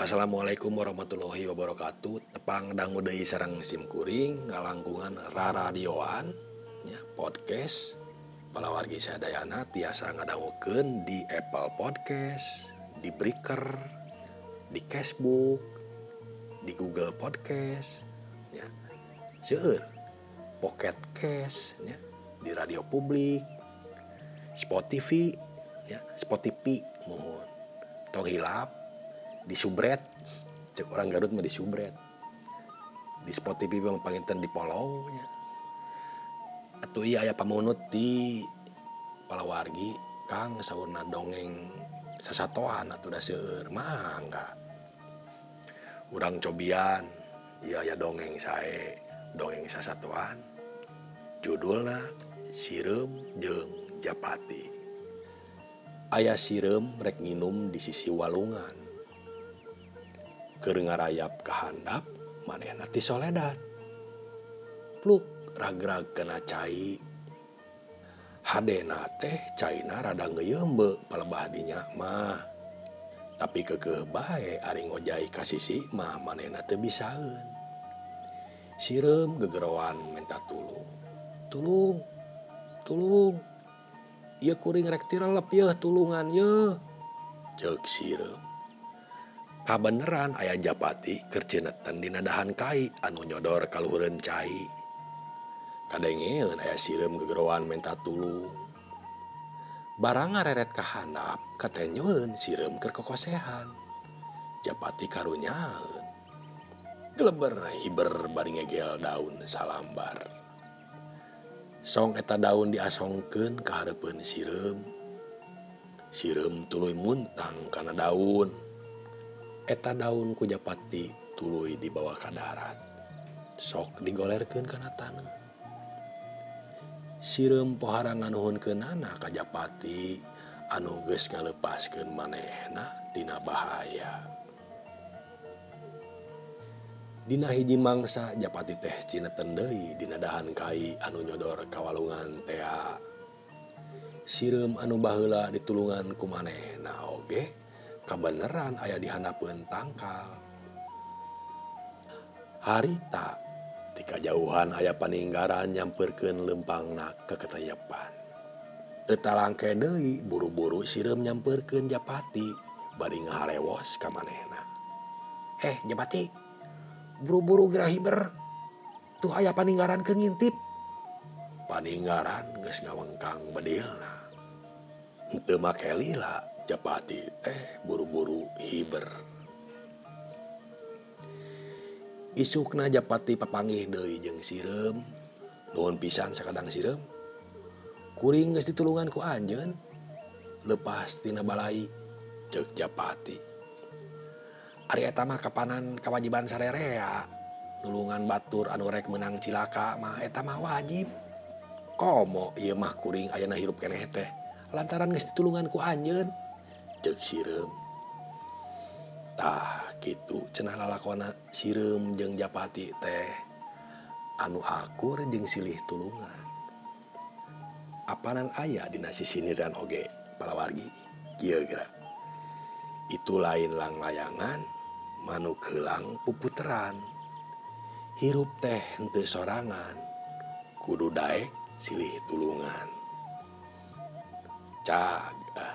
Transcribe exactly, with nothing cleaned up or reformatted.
Assalamualaikum warahmatullahi wabarakatuh. Tepang dangu deui sareng sim kuring ngalangkungan raradioan nya podcast palawargi sadayana tiasa ngadangukeun di Apple Podcast, di Breaker, di Facebook, di Google Podcast nya. Seueur Pocket Cast nya, di Radio Publik, Spotify nya, Spotify mohon. Tong hilap di subret, cek orang Garut mah di subret, di Spotify bang panginten di follow nya. Atuh iya aya pamunut di palawargi Kang saurna dongeng sasatoan atuh da seueur mangga. Urang cobian ieu aya dongeng sae, dongeng sasatoan. Judulna Sireum jeung Japati. Aya sireum rek nginum di sisi walungan. Keur ngarayap ka handap manehna ti soledad. Pluk ragrag kana cai. Hadena teh caina rada ngeuyeumbe palebah dinya mah. Tapi keukeuh bae ari ngojai ka sisi mah manehna teu bisaeun. Sireum gegeroan menta tulung. Tulung. Tulung. Ieu kuring rek tirelep yeuh tulungan yeuh. Ceuk sireum. Kabeneran aya Japati keur ceuneutan dina dahan kai anu nyodor ka luhureun cai. Kadengeun aya sireum gegeroan menta tulung. Barang ngareret ka handap katenyeun sireum keur kokosehan. Japati karunyaeun. Geleber hiber bari ngegel daun salambar. Song eta daun diasongkeun ka hareupeun sireum. Sireum tuluy muntang kana daun. Eta daun ku Japati tuluy dibawa ka darat. Sok digolerkeun kana taneuh. Sireum pohara nganuhunkeunana ka Japati anu geus ngalepaskeun manehna tina bahaya. Dina hiji mangsa Japati teh cineten deui dina dahan kai anu nyodor ka walungan tea. Sireum anu baheula ditulungan ku manehna oge kabeneran aya di handapeun tangkal. Harita ti kajauhan aya paninggaran nyampeurkeun leumpangna ke ketayepan. Teu talangke deui buru-buru sireum nyampeurkeun Japati bari ngaharewos ka manehna. "Heh Japati, buru-buru geura hiber. Tuh aya paninggaran keur ngintip." Paninggaran geus ngawengkang bedilna. Henteu make lila Japati teh buru-buru hiber. Isukna Japati papanggih deui jeung sireum. Nuhun pisan sakadang sireum. Kuring geus ditulungan ku anjeun. Leupas tina balai, ceuk Japati. Ari eta mah kapanan kawajiban sarerea. Nulungan batur anu rek meunang cilaka mah eta mah wajib. Komo ieu mah kuring ayeuna hirup keneh teh lantaran geus ditulungan ku anjeun. Ceuk sireum. Tah kitu cenah lalakonna sireum jeung Japati teh anu akur jeung silih tulungan. Apanan aya dina sisindiran oge palawargi kieu geura. Itu lain lang layangan manuk heulang puputeran. Hirup teh henteu sorangan kudu daek silih tulungan. Cag